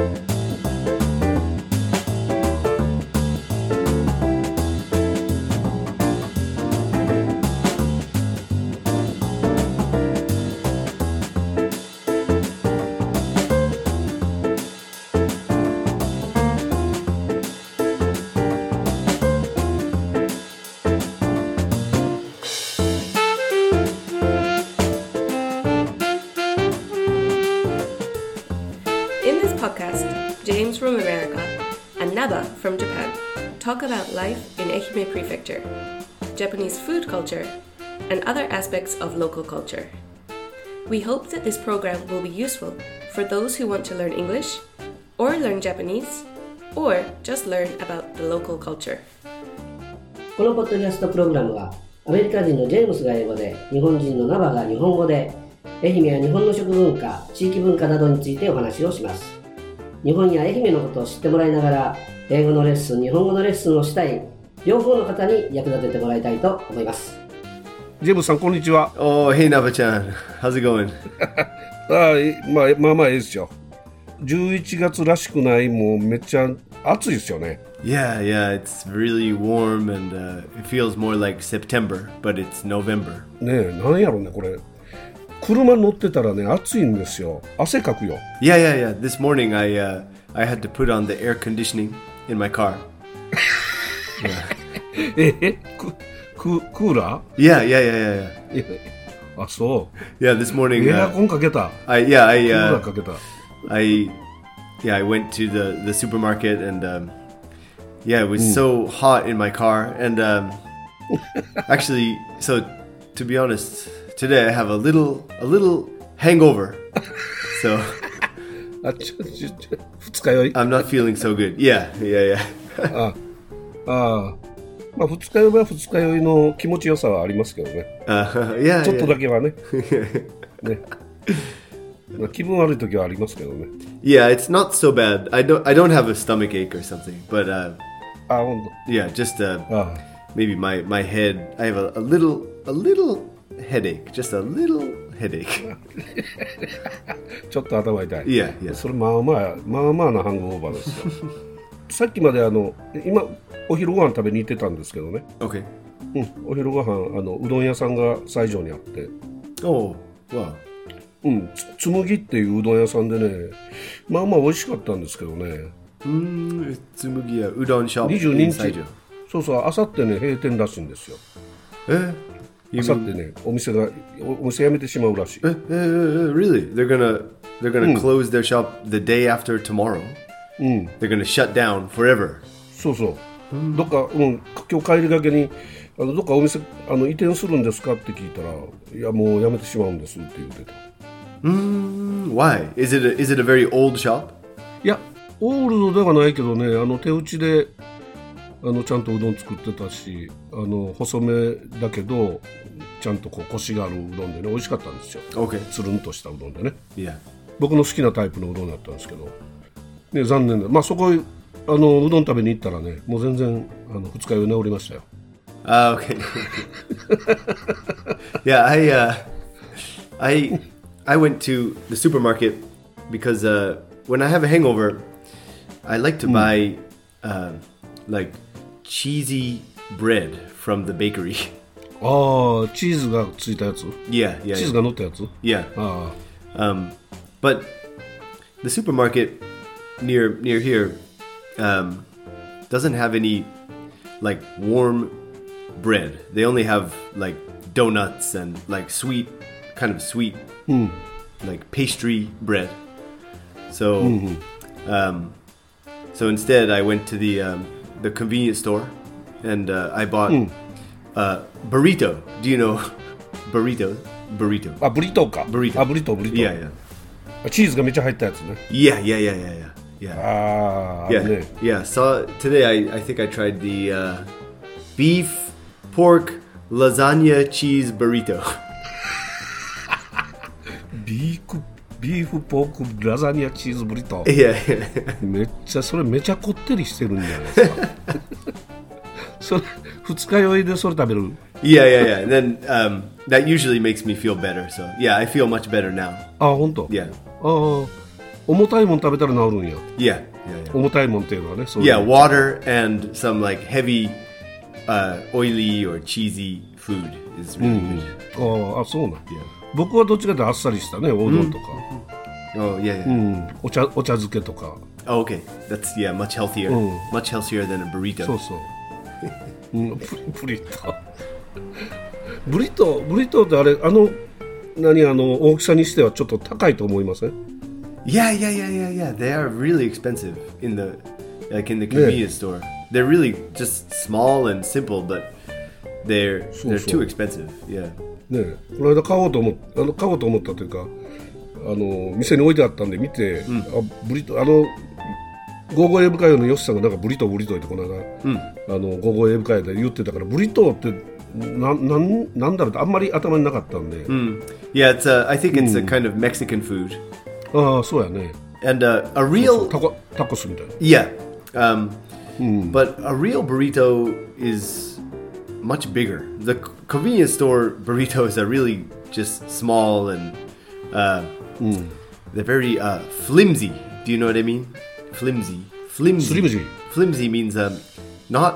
Podcast, James from America and Naba from Japan talk about life in Ehime Prefecture, Japanese food culture, and other aspects of local culture. We hope that this program will be useful for those who want to learn English, or learn Japanese, or just learn about the local culture. このポッドキャストプログラムはアメリカ人のジェームスが英語で、日本人のナバが日本語で、愛媛や日本の食文化、地域文化などについてお話をします。日本や愛媛のことを知ってもらいながら、英語のレッスン、日本語のレッスンをしたい両方の方に役立ててもらいたいと思います。 ジェームスさん、こんにちは。 Oh, hey, Naba-chan. How's it going? まあいいですよ。11月らしくない、もうめっちゃ暑いですよね。 Yeah, it's really warm and it feels more like September, but it's November. ねえ、なんやろね、これ。車乗ってたらね、暑いんですよ。汗かくよ。 Yeah. This morning I had to put on the air conditioning in my car. クーラー Yeah. あ、そう。 Yeah, this morning エアコンかけた。クーラーかけた。 I went to the supermarket and it was so hot in my car and actually, so to be honest, today I have a little hangover. So 二日酔い I'm not feeling so good. Yeah. まあ二日酔いは二日酔いの気持ちよさはありますけどね。ちょっとだけはね。ね。まあ、気分悪い時はありますけどね。 Yeah, it's not so bad. I don't have a stomach ache or something, but 本当。 yeah, just maybe my head. I have a little headache, just a little headache. ちょっと頭痛い。 Yeah. それまあなハングオーバーですよ。さっきまで今お昼ご飯食べに行ってたんですけどね。 Okay. お昼ご飯うどん屋さんが西条にあって。 Oh, wow. つむぎっていううどん屋さんでね、まあ美味しかったんですけどね。 つむぎ屋うどんショップ 22日。そう、あさってね閉店らしいんですよ。あさってねお店辞めてしまうらしい。 Really? They're gonna close their shop the day after tomorrow. They're gonna shut down forever. そう。どっか今日帰りがけにどっかお店移転するんですかって聞いたら、いやもう辞めてしまうんですって言ってた。 Why? Is it a very old shop? いや、オールドではないけどね、手打ちでちゃんとうどん作ってたし、細めだけどちゃんとこうコシがあるうどんでね、美味しかったんですよ。つるんとしたうどんでね。 Yeah. 僕の好きなタイプのうどんだったんですけど、ね、残念だ。まあそこうどん食べに行ったらね、もう全然二日酔い治りましたよ。 Okay. Yeah, I went to the supermarket because when I have a hangover, I like to buy like cheesy bread from the bakery. チーズがついたやつ Yeah. チーズが乗ったやつ Yeah. But the supermarket near here doesn't have any like warm bread. They only have like donuts and like sweet like pastry bread. So so instead I went to the convenience store and I bought burrito. Do you know burrito? ブリトーか。ブリトー。 Yeah. チーズがめっちゃ入ったやつね。 Yeah. Yeah. So today I think I tried the beef pork lasagna cheese burrito. ビーフポークラザニアチーズブリトー。 Yeah. それめちゃこってりしてるんじゃないですか。それ二日酔いでそれ食べる。 Yeah. And then that usually makes me feel better. So yeah, I feel much better now. 本当。 Yeah. 重たいもん食べたら治るんや。 Yeah, yeah, 重たいもんっていうのはね。そういう yeah. Water and some like heavy, oily or cheesy food is really good. そうなん。 Yeah. 僕はどっちかというとあっさりしたね、おうどんとか、 Oh, yeah, yeah. お茶漬けとか。 Oh, okay. That's much healthier. Much healthier than a burrito. そうそう。ブリトー。ブリトーってあれ、大きさにしてはちょっと高いと思いません？ Yeah. They are really expensive in the convenience store. They're really just small and simple, but they're too expensive. Yeah. ね、この間買おうと思ったというか、店に置いてあったんで見て、ブリトー、ゴーゴー英語会のヨシさんがなんかブリトーってこの間、ゴーゴー英語会で言ってたから、ブリトーってなんだろうってあんまり頭になかったんで。 Yeah, I think it's a kind of Mexican food. ああ、そうやね。 And a real タコスみたいな。 Yeah. But a real burrito is much bigger. The convenience store burritos are really just small and they're very flimsy. Do you know what I mean? Flimsy. Flimsy means not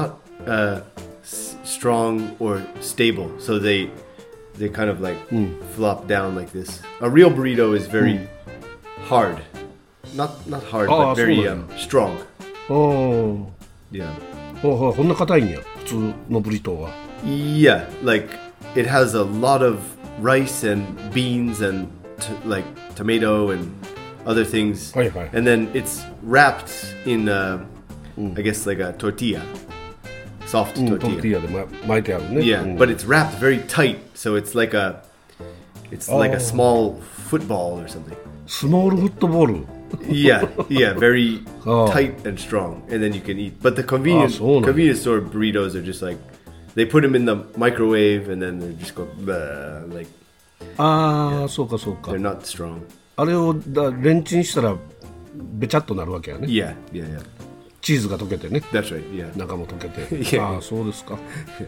strong or stable. So they kind of like flop down like this. A real burrito is very hard. Not hard, but very strong. Yeah. こんな硬いんや、普通のブリトーは。 Yeah, like it has a lot of rice and beans and like tomato and other things. はいはい。 And then it's wrapped in, I guess, like a tortilla. Soft トルテ tortilla. ィーヤで巻いてあるね。 Yeah, but it's wrapped very tight, so it's like a small football or something. スモールフットボール。 Yeah, very Oh. tight and strong, and then you can eat. But the convenience so nice. convenience store burritos are just like they put them in the microwave and then they just go like ああ、そうかそうか they're。not strong. あれをレンチンしたらべちゃっとなるわけやね。 Yeah. チーズが溶けてね。 That's right. Yeah. 中も溶けて。 Yeah. ああ、そうですか。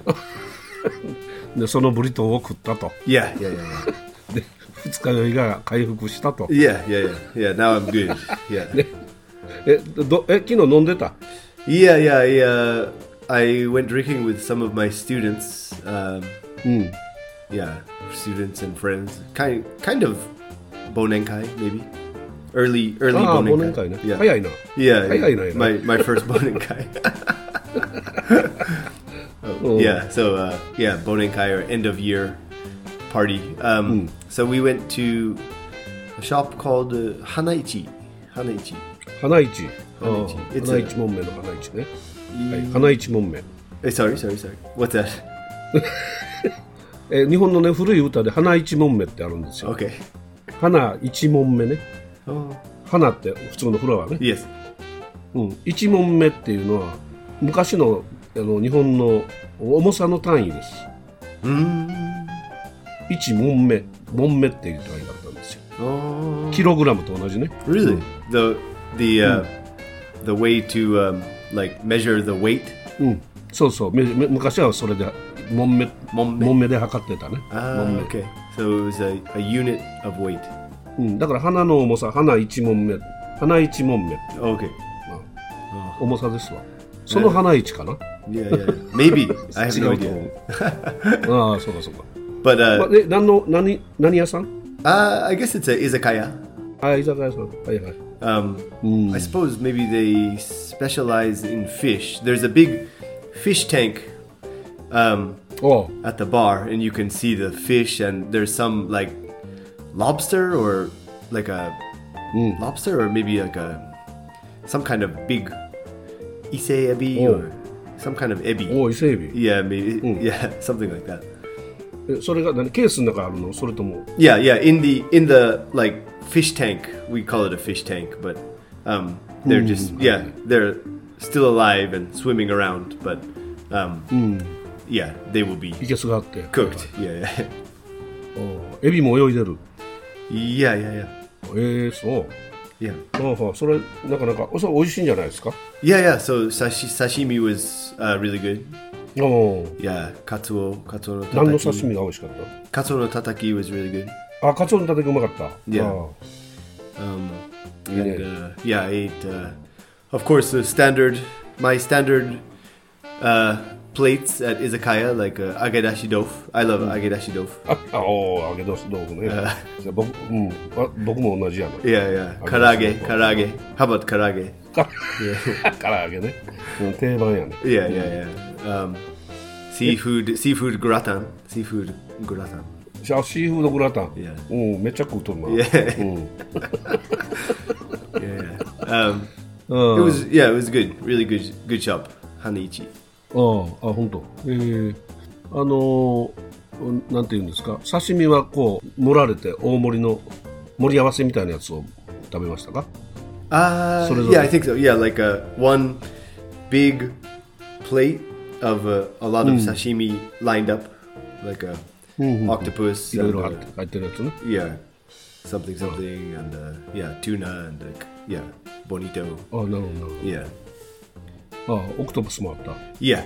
で、そのブリトーを食ったと。 Yeah. で、二日酔いが回復したと。 Yeah. Now I'm good. Yeah. 昨日飲んでた？ Yeah. I went drinking with some of my students. Yeah, students and friends. Kind of bonenkai maybe. Early ああ、忘 bonenkai. 年会ね。 Yeah. 早いな。 Yeah, 早いなやな。 my first bonenkai. Yeah, so bonenkai or end of year party. So we went to a shop called Hanaichi. 花市。ああ、 花市花市門目の花市ね。はい、花市門目。 Sorry. What's that? 日本のね、古い歌で花一門目ってあるんですよ。 Okay. 花一門目ね。 Oh. 花って普通のフラワーね。 Yes. 一門目っていうのは昔の日本の重さの単位です。一門目っていう単位だったんですよ。 Oh. キログラムと同じね。 Really? The way to like measure the weight? そうそう。昔はそれで門目で測ってたね。 Okay. So it was a unit of weight. だから花の重さ、花一門目。 Okay. 重さですわ。その花一かな。 Yeah. Maybe. I have 違 no うと思 idea. う。ああ、そうかそうか。 But 何屋さん？ I guess it's a izakaya. あ、居酒屋さん。はいはい。 I suppose maybe they specialize in fish. There's a big fish tank at the bar, and you can see the fish, and there's some like lobster or like a lobster or maybe like some kind of big ise ebi or some kind of ebi. お、伊勢エビ。 Yeah, maybe. Yeah, something like that. それがケースの中あるの？それとも？ Yeah. In the like fish tank, we call it a fish tank, but they're just they're still alive and swimming around, but yeah, they will be いけすがあって。 cooked. Yeah. エビも泳いでる。 Yeah. そう。 Yeah. それなかなかそれ美味しいんじゃないですか？ Yeah. So sashimi was really good. お Yeah, katsuo no 何の刺 tataki. 身が美味しかっ Katsuo no tataki was really good. た？あ、カツオのたたきうまかった。 Yeah. And yeah, I ate, of course, my standard plates at izakaya, like agedashi tofu. I love agedashi tofu. 揚げ豆腐ね。僕も同じやな。 Yeah, yeah. Karage. How about karage? 唐揚げね。定番やね。 Yeah, yeah, yeah. Seafood gratin. Seafood gratin. シーフードグラタン。 Yeah. めっちゃ食うとるな。 Yeah. Yeah. It was good. Really good shop. Haniichi. 本当。なんていうんですか。刺身はこう盛られて大盛りの盛り合わせみたいなやつを食べましたか ？Yeah, I think so. Yeah, like one big plate of a lot of sashimi lined up, like a octopus. いろいろ入ってるやつね。 Yeah, something, and yeah, tuna and yeah, bonito. なるほど。 Yeah. オクトパスもあった。 Yeah.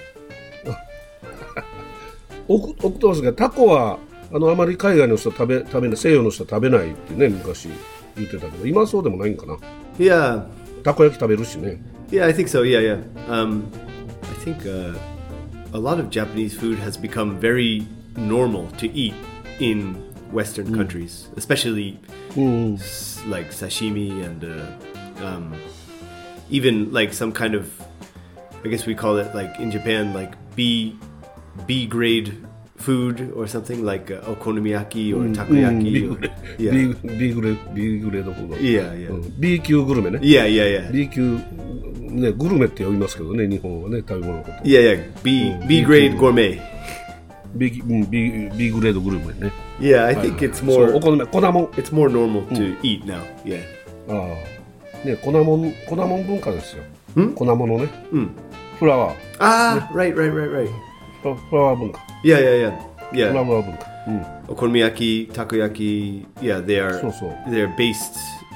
オクトパスがタコはあまり海外の人食べない、西洋の人は食べないってね昔言ってたけど、今はそうでもないんかな。 Yeah. たこ焼き食べるしね。 Yeah, I think so. Yeah. I think a lot of Japanese food has become very normal to eat in Western countries, especially like sashimi and even like some kind of, I guess we call it like in Japan like B grade food or something like okonomiyaki or takoyaki. B グレードフード。 Yeah. B 級グルメね。 Yeah. B 級ね、グルメって呼びますけどね、日本はね、食べ物のこと。 Yeah. B grade gourmet. B グレードグルメね。 Yeah, I think it's more. お好み、粉もん。 It's more normal to eat now. Yeah. ね、粉もん文化ですよ。粉物ね。フラワー。 Right. フラワー文化。 Yeah. フラワー文化。 Okonomiyaki, takoyaki, yeah, they're based.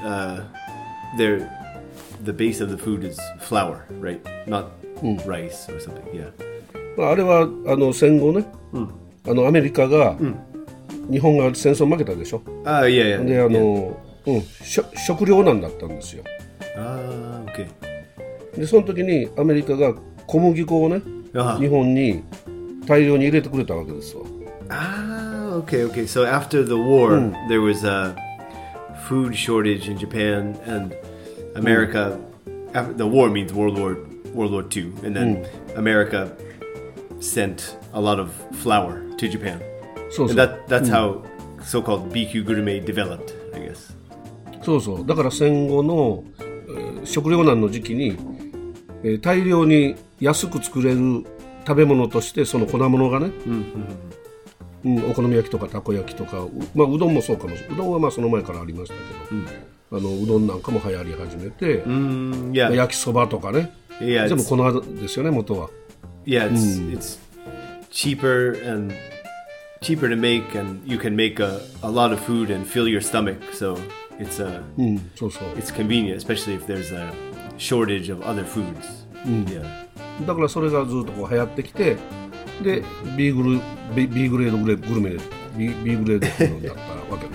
The base of the food is flour, right? Not rice or something. Yeah. あれは戦後ね、アメリカが、日本が戦争負けたでしょ。 Yeah. で食糧難だったんですよ。 Okay. でその時にアメリカが小麦粉をね、日本に大量に入れてくれたわけですわ。 Okay. So after the war, there was a food shortage in Japan and America. After the war means World War II, and then America sent a lot of flour to Japan. So. And that's how so-called BQ gourmet developed, I guess. そうだから戦後の、食糧難の時期に、大量に安く作れる食べ物としてその粉物がね、お好み焼きとかたこ焼きとか、うどんもそうかもしれない。うどんはその前からありましたけど、うどんなんかも流行り始めて、焼きそばとかね、全部粉ですよね、元は。 Yeah, it's cheaper to make, and you can make a lot of food and fill your stomach. So it's it's convenient, especially if there's a shortage of other foods. Yeah. だからそれがずっとこう流行ってきて、で B グレードグルメ B グレードフードだったわけです。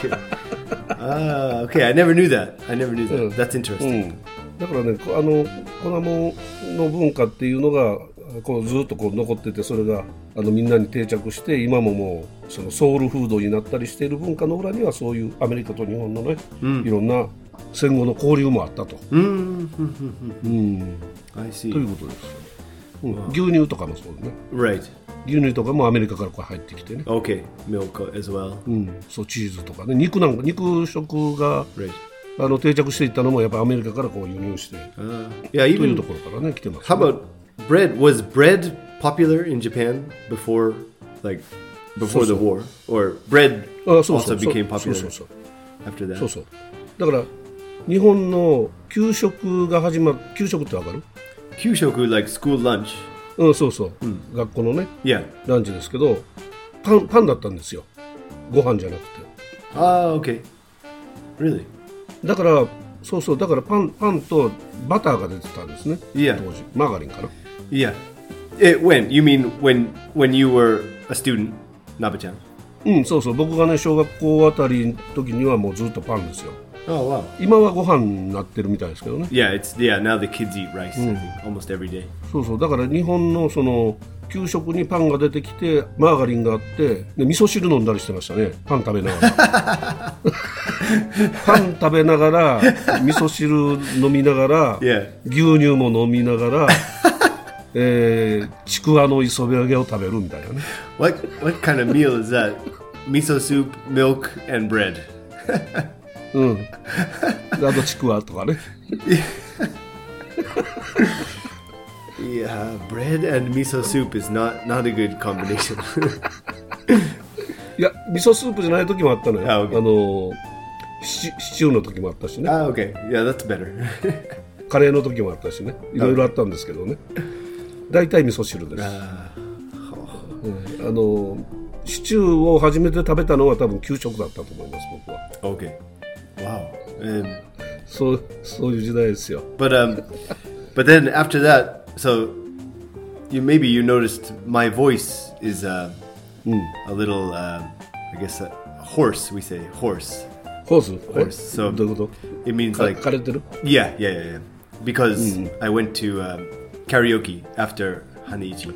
Okay. I never knew that. That's interesting. だからね、粉もんの文化っていうのがこうずっとこう残ってて、それがみんなに定着して、今ももうそのソウルフードになったりしている文化の裏には、そういうアメリカと日本のね、いろんな戦後の交流もあったと。 I see. ということですよ。牛乳とかもそうだね。 Right. 牛乳とかもアメリカからこう入ってきてね。 Okay. Milk as well. そうチーズとかね、肉食が、定着していったのもやっぱアメリカからこう輸入して、 というところからね来てます、ね。 How about bread? Was bread popular in Japan before the war, or bread also became popular after that? そう。だから日本の給食が始まる。給食ってわかる？ 給食 like school lunch. そう、学校のね、 Yeah. ランチですけど、パンだったんですよ。ご飯じゃなくて。 Okay. Really? だからだからパンとバターが出てたんですね。 Yeah. 当時マーガリンかな。 Yeah. When you mean when you were a student, Nabe-chan? そう。僕がね小学校あたりの時にはもうずっとパンですよ。 Oh wow. 今はご飯になってるみたいですけどね。 Yeah, now the kids eat rice, I think, almost every day. そうそう、だから日本のその給食にパンが出てきてマーガリンがあってで味噌汁飲んだりしてましたね。パン食べながらパン食べながら味噌汁飲みながら、 Yeah. 牛乳も飲みながらちくわの磯辺揚げを食べるみたいなね。 What kind of meal is that? Miso soup, milk, and bread. うん。あとちくわとかね。 Yeah, bread and miso soup is not a good combination. いや味噌スープじゃない時もあったのよ。 あ OK シチューの時もあったしね。 Ah, okay. Yeah, that's better. カレーの時もあったしね。いろいろあったんですけどね。大体味噌汁です。シチューを初めて食べたのは多分給食だったと思います僕は。 Okay. Wow. そういう時代ですよ。 But then after that, so maybe you noticed my voice is a little, I guess, hoarse. We say hoarse. ホース？ Hoarse. So どういうこと？ it means like 枯れてる？ yeah. Because I went to karaoke after Haniichi.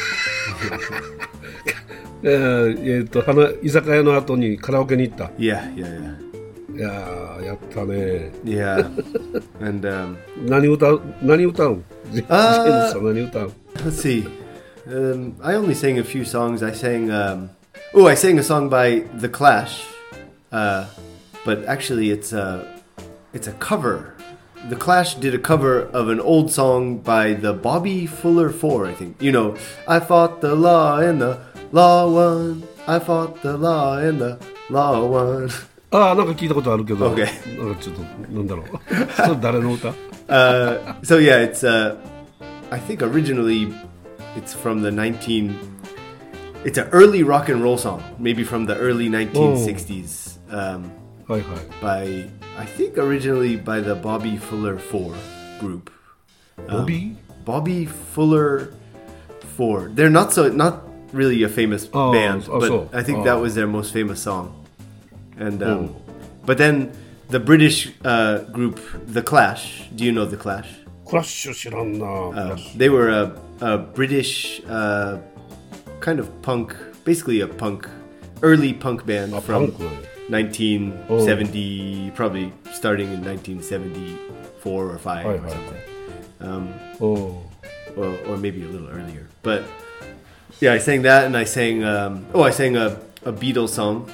居酒屋の後にカラオケに行った。 Yeah. いやーやったね。 Yeah. And 何歌うん？ジェームスさん何歌うん？ let's see. I only sang a few songs. I sang I sang a song by The Clash. But actually it's a cover. The Clash did a cover of an old song by the Bobby Fuller Four, I think. You know, I fought the law and the law won. I fought the law and the law won. ああなんか聞いたことあるけど、 Okay. なんかちょっとなんだろうそれ誰の歌？ So yeah, it's I think originally it's from the it's an early rock and roll song, maybe from the early 1960s. はいはい。 By I think originally by the Bobby Fuller Four group. ボビー？ Bobby Fuller Four. They're not really a famous band, but so. I think that was their most famous song. And but then the British group The Clash. Do you know The Clash? クラッシュ知らんな。 They were a British kind of punk, basically a early punk band from パンクなんや。 1970, probably starting in 1974 or 5 or something. お Or maybe a little earlier. But yeah, I sang that, and I sang I sang a Beatles song.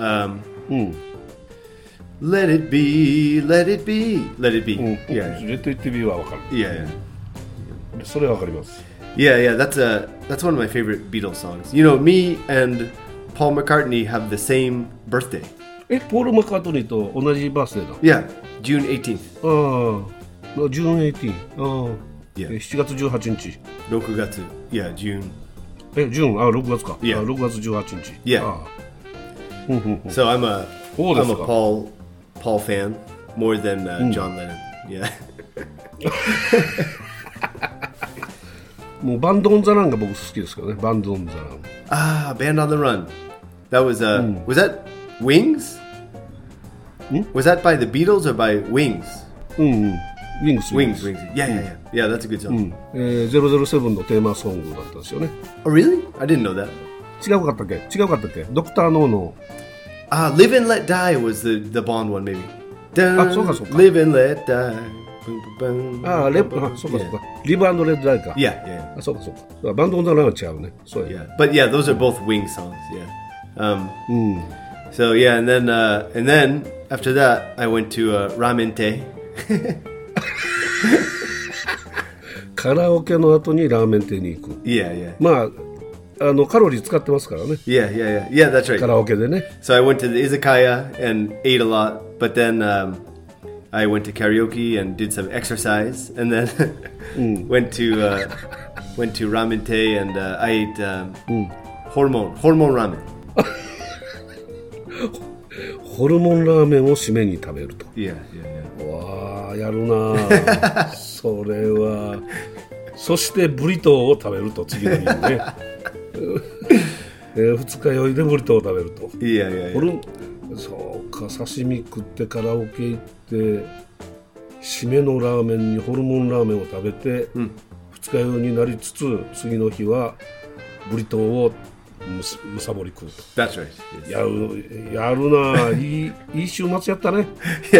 Let it be, let it be, let it be. うん。 Yeah, レッド・イット・ビーはわかる。 yeah. それはわかります。 Yeah, that's one of my favorite Beatles songs. You know, me and Paul McCartney have the same birthday. ポール・マッカートニーと同じバースデーだ。 Yeah, June 18th. ああ、ジューン18。ああ、 Yeah. 7月18日。 6月. Yeah, June. ジューン、6月か。 Yeah. 6月18日。 Yeah. ああ So I'm a Oh, Paul fan more than John Lennon. Yeah. もうバンド・オン・ザ・ランが僕好きですけどね。バンド・オン・ザ・ラン。 Ah, Band on the Run. That was was that Wings? Was that by the Beatles or by Wings? うんうん。ウィングス。 Wings. Yeah. That's a good song. 007のテーマソングだったんですよね。 Oh, really? I didn't know that. 違うかったっけドクター・ノーの。 Live and Let Die was the Bond one, maybe. Ah, so ka. Live and Let Die. Boom, boom, boom, ああ、そうかそうか。リブ&レッド・アイか。 Yeah. あ、そうか。バンド・オン・ザ・ランは違うね。そうや。 Yeah. But yeah, those are both Wings songs. Yeah. So yeah, and then after that, I went to Ramen-te. カラオケの後にラーメン店に行く。 Yeah. まあ、カロリー使ってますからね。 Yeah, that's right. カラオケでね。 So I went to the izakaya and ate a lot, but then I went to karaoke and did some exercise, and then went to Ramen-te and I ate hormone ramen. ホルモンラーメンを締めに食べると。 Yeah. わあ、やるなそれは。そしてブリトーを食べると、次の日にね。二日酔いでブリトーを食べると。 Yeah. そうか刺身食ってカラオケ行って締めのラーメンにホルモンラーメンを食べて、二日酔いになりつつ次の日はブリトーをむさぼり食うと。 That's right. Yes. やるないい週末やったね。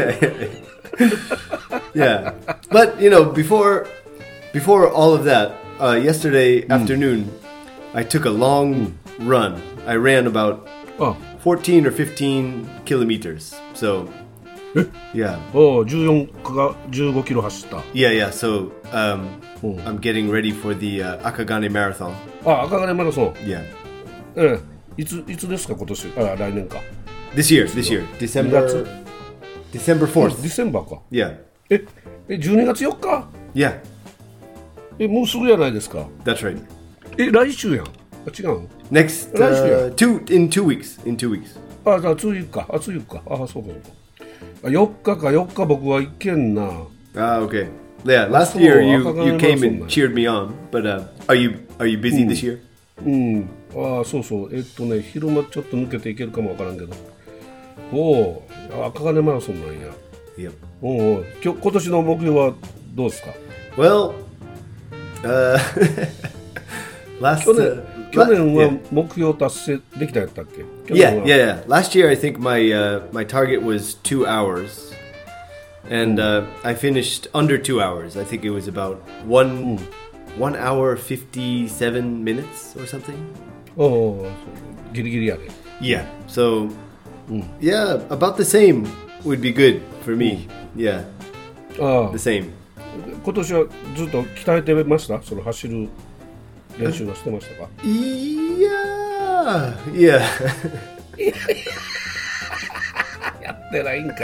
Yeah. But before all of that, yesterday afternoon, I took a long run. I ran about 14 or 15 kilometers. So, yeah. 14か15キロ走った。 Yeah. So, I'm getting ready for the Akagane Marathon. 赤金マラソン。 Yeah. いつですか今年？来年か。 This year. December 4th. ディセンバーか。 Yeah. 12月4日？ Yeah. もうすぐやないですか。 That's right. 来週やん。違うの？ Next, Last year. in 2 weeks. In 2 weeks. じゃあ次か。次か。そうかそうか。4日僕は行けんな。 Okay. Yeah, last So, year you Akagane came Marathon. and cheered me on, but are you busy this year? そうそう。昼間ちょっと抜けていけるかもわからんけど。赤金マラソンなんや。 Yep. 今年の目標はどうですか？ Well, last 去年は目標達成できたやったっけ？ yeah. Last year I think my target was 2 hours, and I finished under 2 hours. I think it was about 1 hour 57 minutes or something. ギリギリやで。 Yeah. So, yeah, about the same would be good for me. Yeah, the same. 今年はずっと鍛えてました？その走る練習はしてましたか？ Yeah. やってないんかい。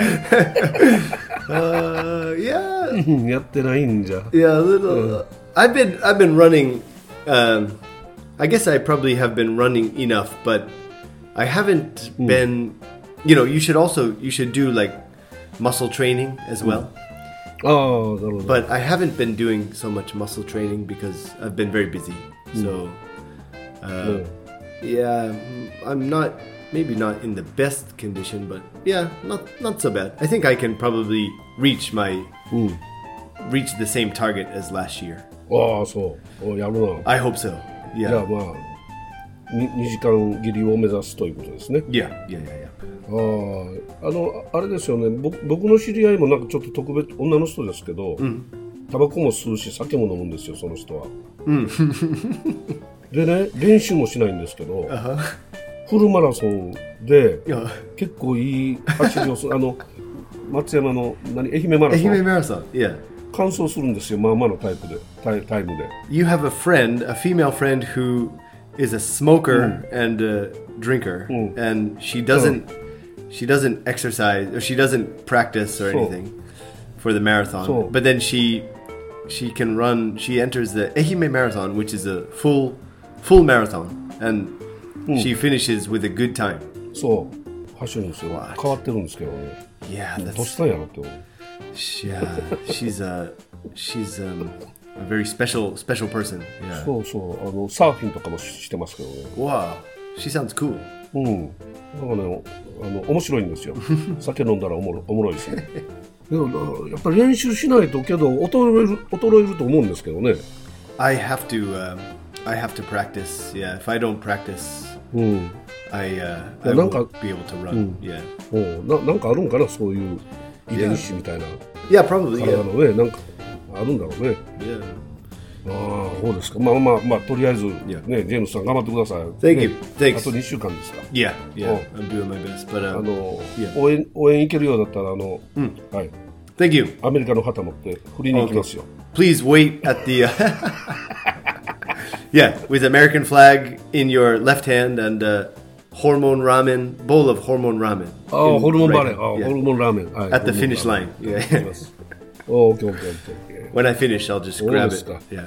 Yeah. やってないんじゃ。 Yeah, a little. I've been running. I guess I probably have been running enough, but I haven't been. You should do like muscle training as well. なるほど。 But I haven't been doing so much muscle training because I've been very busy. So, yeah, I'm maybe not in the best condition, but yeah, not so bad. I think I can probably reach the same target as last year. そう。やるな。 I hope so. じゃ Yeah. あ2時間切りを目指すということですね。 Yeah. あれですよね。僕の知り合いもなんかちょっと特別女の人ですけど、タバコも吸うし酒も飲むんですよ、その人は。でね、練習もしないんですけど、フルマラソンで結構いい走りをする。松山の愛媛マラソン。 愛媛 Marathon. Yeah. 完走するんですよ。まあまあのタイムで。 You have a female friend who is a smoker and a drinker, and she doesn't exercise or she doesn't practice or anything for the marathon. But then she can run. She enters the Ehime Marathon, which is a full marathon, and she finishes with a good time. そう走るんですよ。変わってるんですけどね。 Yeah, どうしたんやろって思う。 she's a very special person. Yeah. そうサーフィンとかもしてますけどね。 Wow, she sounds cool. なんかね、面白いんですよ。酒飲んだらおもろいですね。でもやっぱり練習しないとけど衰えると思うんですけどね。 I have to practice. Yeah, if I don't practice, I won't be able to run. Yeah. なんかあるんかな、そういう遺伝子みたいな。 Yeah, probably. 体 Yeah. のね、なんかあるんだろうね。 Yeah. そうですか。まあとりあえずね、ジェームスさん頑張ってください。 Thank you. ね Thanks. あと2週間ですか。 Yeah. I'm doing my best, but yeah. 応援行けるようだったらはい。 Thank you. アメリカの旗持って振りに行きますよ。 Please wait at the yeah, with American flag in your left hand and bowl of hormone ramen. ホルモンバレ Right ー、 hand. ホ Yeah. ルモンラーメン。はい、 At the finish line. Yeah. オッケー。 When I finish, I'll just grab it. Scott. Yeah.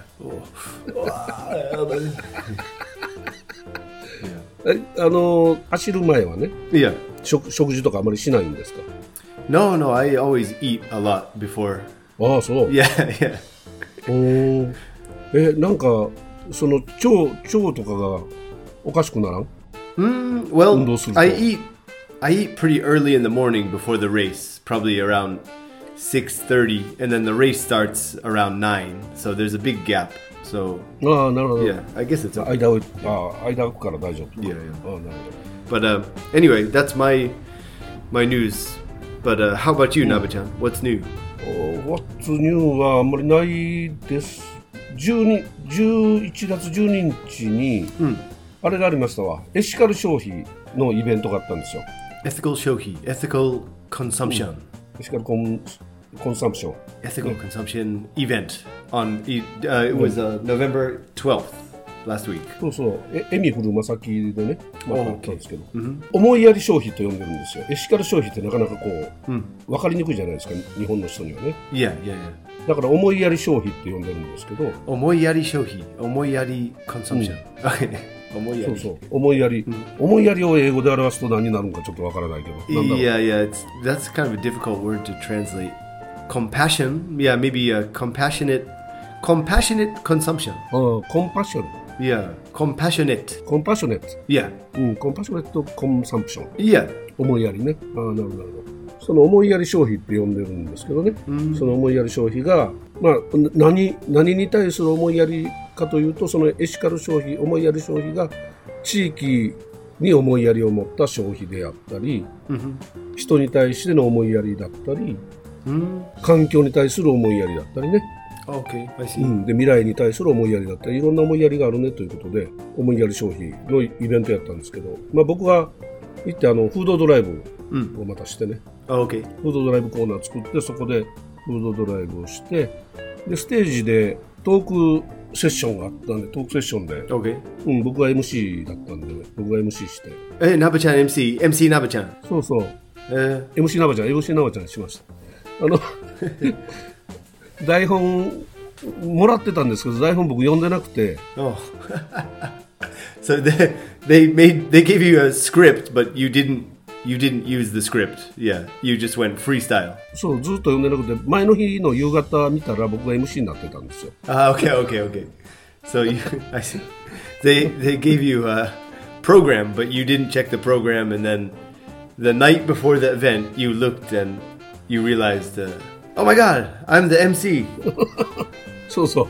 走る前はね、 Yeah. 食事とかあまりしないんですか？ No, I always eat a lot before. そう。 Yeah. なんかその腸とかがおかしくならん？ Well, Undosu. I eat I eat pretty early in the morning before the race, probably around 6:30, and then the race starts around 9. So there's a big gap. So ああ、なるほど。 yeah, I guess it's okay. 間を間空くから大丈夫。 Yeah, yeah. ああ、なるほど。 But anyway, that's my news. But how about you, Naba-chan? What's new? What's new はあんまりないです。11月12日に、あれがありましたわ。エシカル消費のイベントがあったんですよ。 Ethical shohi, ethical consumption. エシカルコンサンプション。 Ethical consumption event on it was November 12th last week. そうそう。エミフルマサキでね、あったんですけど、思いやり消費と呼んでるんですよ。エシカル消費ってなかなかこう、分かりにくいじゃないですか、日本の人にはね。 Yeah, yeah, yeah. だから思いやり消費って呼んでるんですけど、 Omoyari shohi, omoyari consumption. Okay. そうそう、思いやり、思いやりを英語で表すと何になるのかちょっとわからないけど、なんだろう。 Yeah, that's kind of a difficult word to translate. Compassion, yeah, maybe a compassionate consumption. コンパッション。 Yeah, compassionate. コンパッショネット。 Yeah, コンパッショネットコンサンプション。 yeah. 思いやりね。なるほど、なるほど。その思いやり消費って呼んでるんですけどね。その思いやり消費が、まあ、何に対する思いやりかというと、そのエシカル消費、思いやり消費が地域に思いやりを持った消費であったり、人に対しての思いやりだったり、環境に対する思いやりだったりね。 Okay, I see. で、未来に対する思いやりだったり、いろんな思いやりがあるねということで、思いやり消費のイベントやったんですけど、まあ、僕が行ってフードドライブをまたしてね、 Okay. フードドライブコーナー作って、そこでフードドライブをして、でステージでトークセッションがあったんで、トークセッションで、 Okay. 僕が MC だったんで、僕が MC して、 Naba-chan MC Naba-chan. そうそう、MC ナバちゃんしました。台本もらってたんですけど、台本僕読んでなくて。 Oh. So they gave you a script, but you didn't use the script. Yeah, you just went freestyle. そう、ずっと読んでなくて、前の日の夕方見たら僕が MC になってたんですよ。 Okay. So I see. They gave you a program, but you didn't check the program, and then the night before the event, you looked and you realized, oh my God, I'm the MC. そうそう。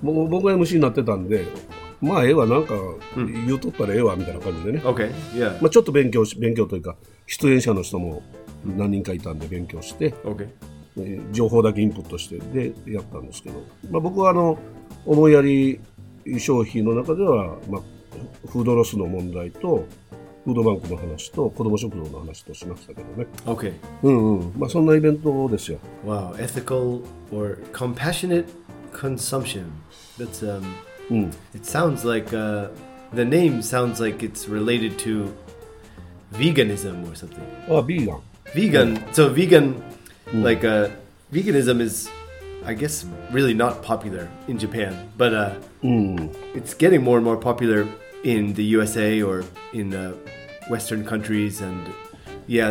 もう僕が MC になってたんで、まあなんか言うとったらわみたいな感じでね。 Okay, yeah. まあちょっと勉強というか、出演者の人も何人かいたんで勉強して、 Okay. 情報だけインプットしてでやったんですけど、まあ、僕は思いやり消費の中では、まあ、フードロスの問題とフードバンクの話と子ども食堂の話としましたけどね。 Okay. まあそんなイベントですよ。 Wow, ethical or compassionate consumption. That's It sounds like the name sounds like it's related to veganism or something. ビーガン。 Vegan. So vegan, like veganism is, I guess, really not popular in Japan, but it's getting more and more popular in the USA or in Western countries, and yeah,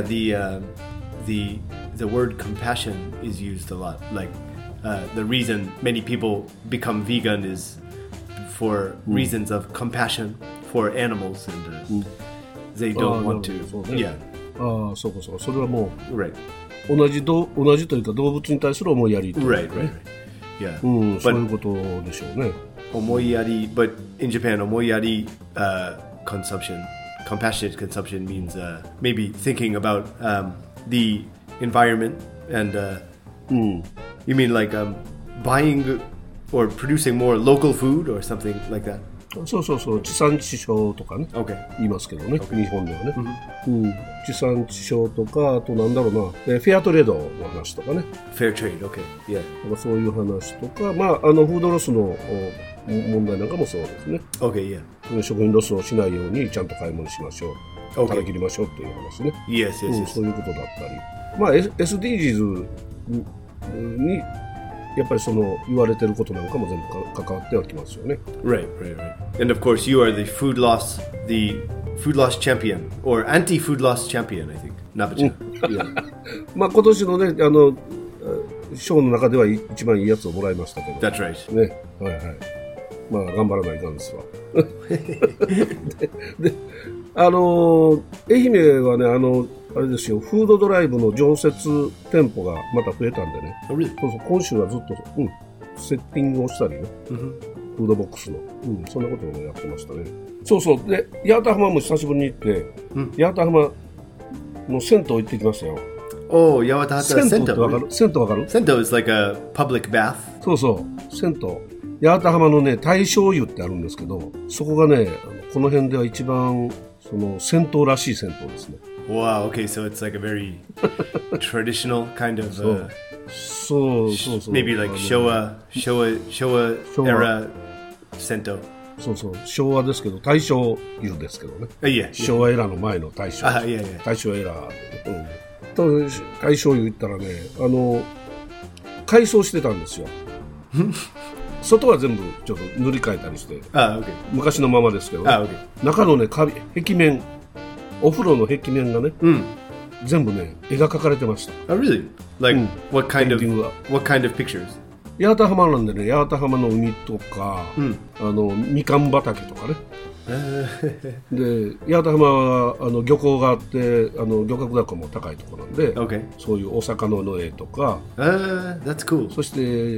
the word compassion is used a lot. Like the reason many people become vegan is for reasons of compassion for animals, and they don't want to. Yeah. そうかそうか。それはもう Right. 同じというか動物に対する思いやりというかね。 Right. Yeah. そういうことでしょうね。 Omoyari, but in Japan, omoyari consumption, compassionate consumption means maybe thinking about the environment, and you mean like buying or producing more local food or something like that? そう地産地消とかね、 Okay. 言いますけどね、日本ではね、地産地消とか、あとなんだろうな、フェアトレードの話とかね、 Fair trade, okay, yeah. そういう話とか、まあ、フードロスの問題なんかもそうですね。 Okay, yeah. 食品ロスをしないようにちゃんと買い物しましょう、食べきりましょうっていう話ね。 Yes. そういうことだったり、まあ、SDGs にやっぱりその言われてることなんかも全部関わってはきますよね。 Right. And of course, you are the food loss champion or anti-food loss champion, I think. Naba-chan. Yeah. まあ今年のね、賞の中では一番いいやつをもらいましたけど。 That's right. ね、はい。まあ頑張らないかんですわ。 で愛媛はねあれですよ、フードドライブの常設店舗がまた増えたんでね。 Oh, really? そうそう、今週はずっと、セッティングをしたりね、フードボックスの、そんなことをやってましたね。そうそう、で八幡浜も久しぶりに行って、八幡浜の銭湯行ってきましたよ。 Oh, Yawatahata 銭湯ってわかる？銭湯わかる？ Sento is like a public bath. そうそう、銭湯。八幡浜のね、大正湯ってあるんですけど、そこがね、この辺では一番その銭湯らしい銭湯ですね。 Wow, okay, so it's like a very traditional kind of そう。 maybe like Showa era Sento. そうそう、昭和ですけど、大正湯ですけどね。 Yeah. 昭和エラーの前の大正。大正エラー。と大正湯行ったらね、改装してたんですよ。外は全部ちょっと塗り替えたりして、 okay. 昔のままですけど、ね okay. 中のね、壁面、お風呂の壁面がね、全部ね、絵が描かれてました。 Oh, really? Like, what kind of pictures? 八幡浜なんでね、八幡浜の海とか、みかん畑とかね。で、八幡浜は漁港があって、漁獲高も高いところなんで、そういうお魚の絵とか、 that's cool. そして、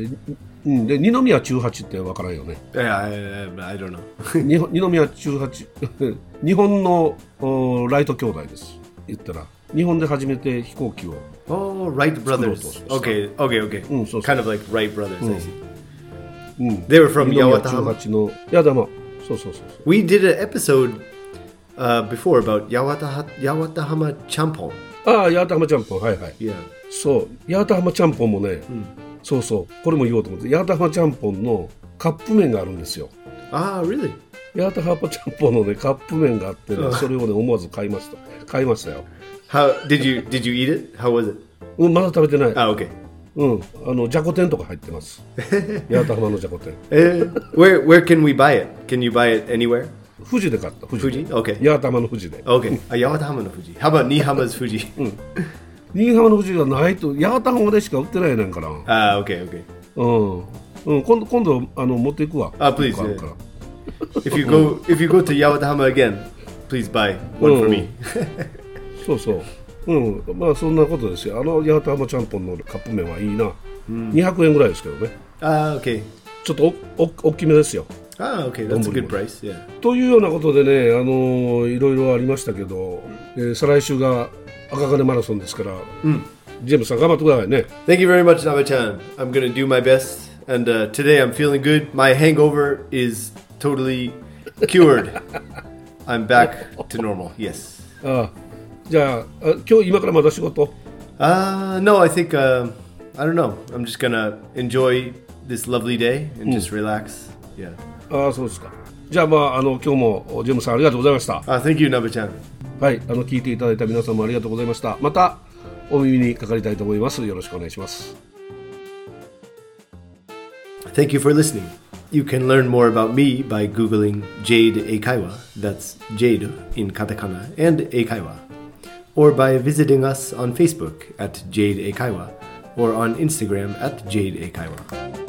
で二宮中八って分からんよね。 I don't know. 二宮中八日本のライト兄弟です。言ったら日本で初めて飛行機を。 Oh, Wright brothers. Okay. Kind of like Wright brothers. I see. They were from 二宮中 Yawatahama. 八の八幡浜。そう。 We did an episode before about Yawatahama Champon. 八幡浜ちゃんぽん、はい。 Yeah. そう、八幡浜ちゃんぽんもね、そう、これも言おうと思って、八幡浜ちゃんぽんのカップ麺があるんですよ。 Really? 八幡浜ちゃんぽんのね、カップ麺があってね、それをね、思わず買いましたよ。 How did you eat it? How was it? まだ食べてない。 Okay. じゃこ天とか入ってます。八幡浜のじゃこ天。 Where can we buy it? Can you buy it anywhere? 富士で買った。 富士? Okay. 八幡浜の富士で。 Okay. Yawatahama no Fuji. How about Nihama's Fuji? 新居浜の富士がないと、八幡浜でしか売ってないねんから。 Okay. 今度持っていくわ。 Please. If you go to Yawatahama again, please buy one for me. そう。まあそんなことですよ。八幡浜ちゃんぽんのカップ麺はいいな。200円ぐらいですけどね。 Okay. ちょっと大きめですよ。 Okay. That's a good price. Yeah. というようなことでね、いろいろありましたけど、再来週が赤金マラソンですから、ジェームスさん頑張ってくださいね。 Thank you very much, Naba-chan. I'm going to do my best. And today I'm feeling good. My hangover is totally cured. I'm back to normal. Yes. じゃあ、今日今からまだ仕事？ No, I think, I don't know. I'm just going to enjoy this lovely day and just relax. Yeah. そうですか。じゃあ、今日もジェームスさんありがとうございました。 Thank you, Naba-chan. はい、聞いていただいた皆さんもありがとうございました。またお耳にかかりたいと思います。よろしくお願いします。 Thank you for listening. You can learn more about me by Googling Jade Eikaiwa, that's Jade in katakana, and Eikaiwa, or by visiting us on Facebook at Jade Eikaiwa, or on Instagram at Jade Eikaiwa.